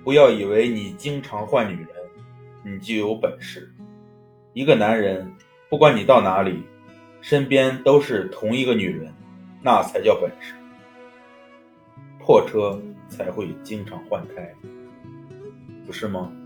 不要以为你经常换女人，你就有本事。一个男人，不管你到哪里，身边都是同一个女人，那才叫本事。破车才会经常换胎，不是吗？